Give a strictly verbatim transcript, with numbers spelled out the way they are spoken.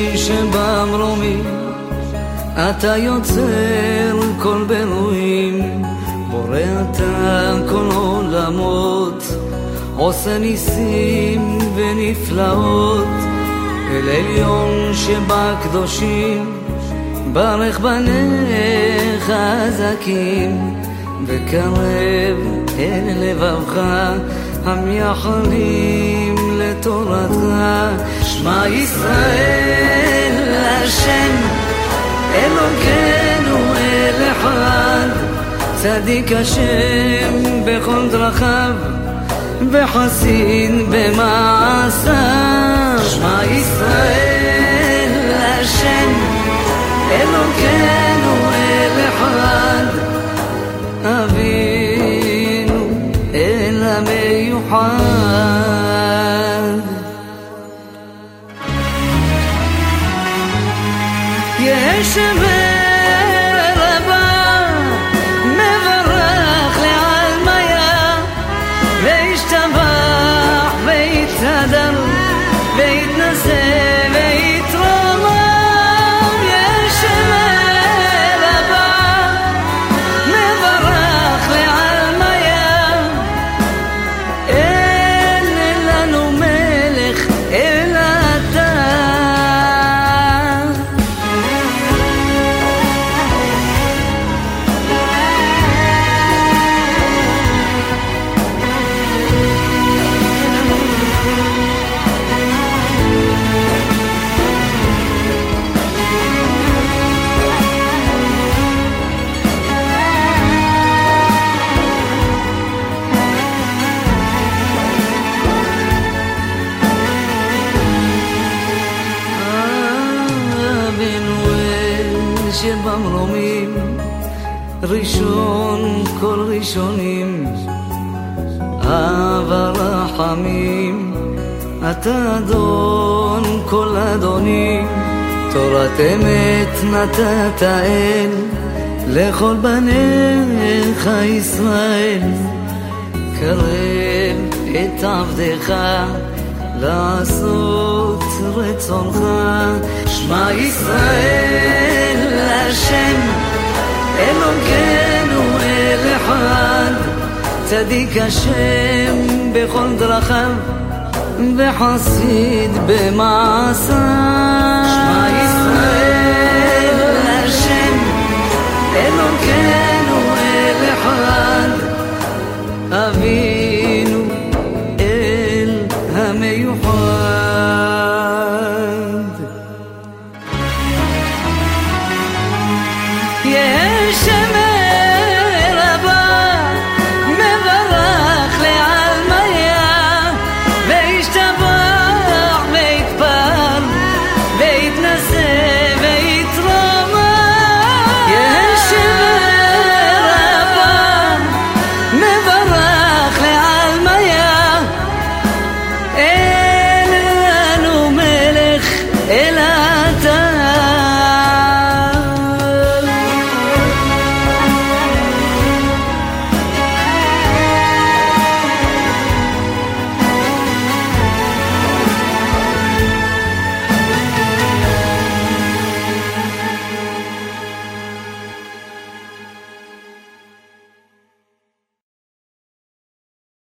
שבמרומים אתה יוצר כל ברואים, בורא אתה כל עולמות, עושה ניסים ונפלאות. אל עליון שבקדושים ברך בניך חזקים, וקרב אל לבבך המייחלים לתורתך. שמע ישראל השם אלוקינו אל אחד, צדיק השם בכל דרכיו וחסין במעשיו. שמע ישראל השם אלוקינו אל אחד, אבינו אל המיוחד. יש רבה מברך לעלמיה, וישתבח ויתהדר ויתנשא ויתרומם. יש רבה מברך לעלמיה, אין לנו מלך אלא אתה. שבמרומים ראשון כל ראשונים, אב הרחמים אתה אדון כל אדונים. תורת אמת נתת אל לכל בניך ישראל, קרב את עבדך לעשות רצונך. שמע ישראל השם אלוקינו אל אחד, צדיק השם בכל דרכיו וחסיד במעשיו. שמע ישראל השם אלוקינו אל אחד, אבינו אל המיוחד. יש